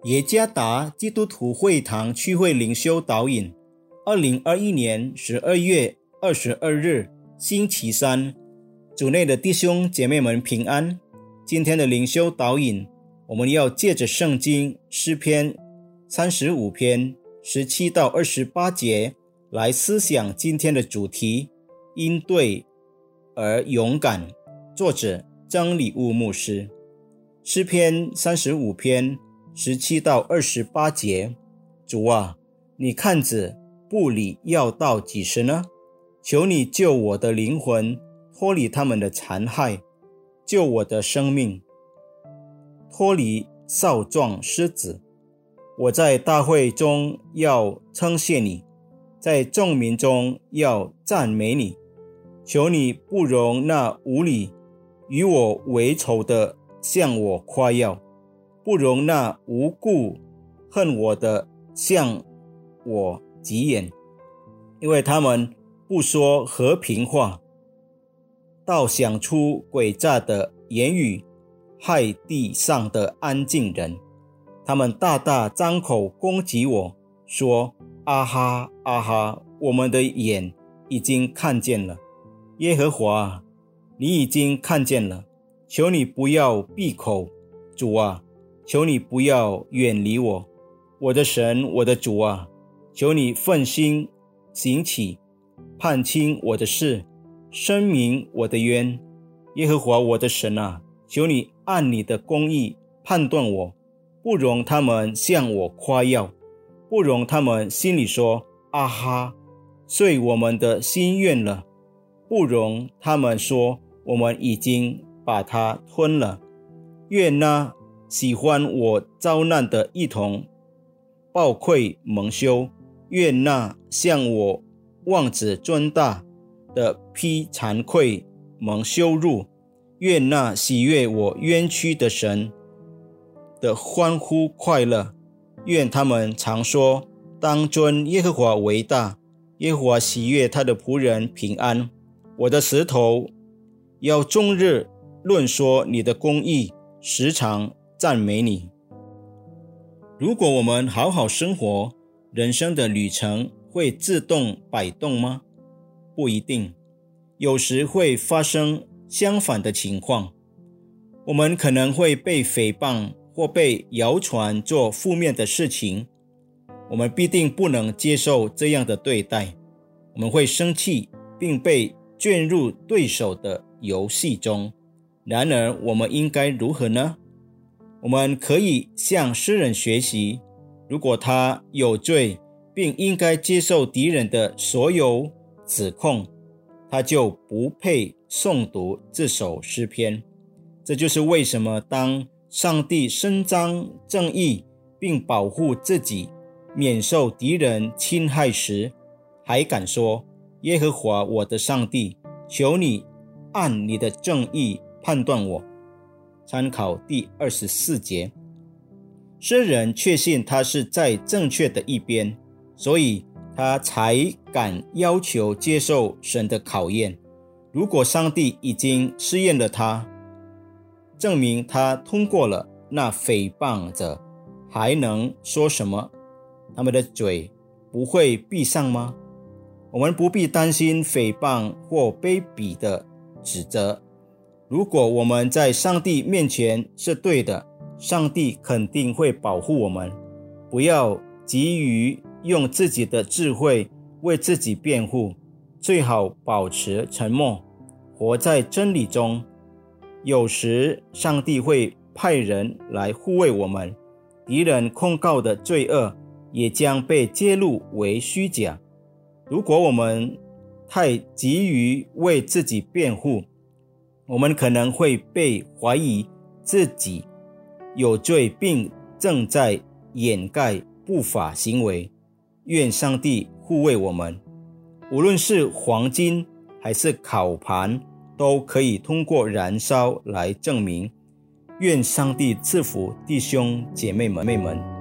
耶加达基督徒会堂区会灵修导引2021年12月22日星期三，主内的弟兄姐妹们平安。今天的灵修导引，我们要借着圣经诗篇35篇17到28节来思想今天的主题，因对而勇敢。作者曾礼物牧师。诗篇35篇17到28节，主啊，你看着步履要到几时呢？求你救我的灵魂脱离他们的残害，救我的生命脱离少壮狮子。我在大会中要称谢你，在众民中要赞美你。求你不容那无理与我为仇的向我夸耀，不容那无故恨我的向我急眼，因为他们不说和平话，倒想出诡诈的言语，害地上的安静人。他们大大张口攻击我，说：啊哈啊哈，我们的眼已经看见了。耶和华，你已经看见了，求你不要闭口。主啊，求你不要远离我。我的神，我的主啊，求你奋心行起，判清我的事，申明我的冤。耶和华我的神啊，求你按你的公义判断我，不容他们向我夸耀，不容他们心里说：啊哈，遂我们的心愿了，不容他们说：我们已经把它吞了。愿那喜欢我遭难的一同抱愧蒙羞，愿那向我妄自尊大的披惭愧蒙羞辱，愿那喜悦我冤屈的神的欢呼快乐。愿他们常说：当尊耶和华为大，耶和华喜悦他的仆人平安。我的舌头要终日论说你的公义，时常赞美你。如果我们好好生活，人生的旅程会自动摆动吗？不一定，有时会发生相反的情况。我们可能会被诽谤或被谣传做负面的事情，我们必定不能接受这样的对待，我们会生气，并被卷入对手的游戏中。然而我们应该如何呢？我们可以向诗人学习，如果他有罪并应该接受敌人的所有指控，他就不配诵读这首诗篇。这就是为什么当上帝伸张正义并保护自己免受敌人侵害时，还敢说：耶和华我的上帝，求你按你的正义判断我。参考第24节。诗人确信他是在正确的一边，所以他才敢要求接受神的考验。如果上帝已经试验了他，证明他通过了，那诽谤者还能说什么？他们的嘴不会闭上吗？我们不必担心诽谤或卑鄙的指责。如果我们在上帝面前是对的，上帝肯定会保护我们。不要急于用自己的智慧为自己辩护，最好保持沉默，活在真理中。有时上帝会派人来护卫我们，敌人控告的罪恶也将被揭露为虚假。如果我们太急于为自己辩护，我们可能会被怀疑自己有罪，并正在掩盖不法行为。愿上帝护卫我们，无论是黄金还是烤盘，都可以通过燃烧来证明。愿上帝赐福弟兄姐妹们。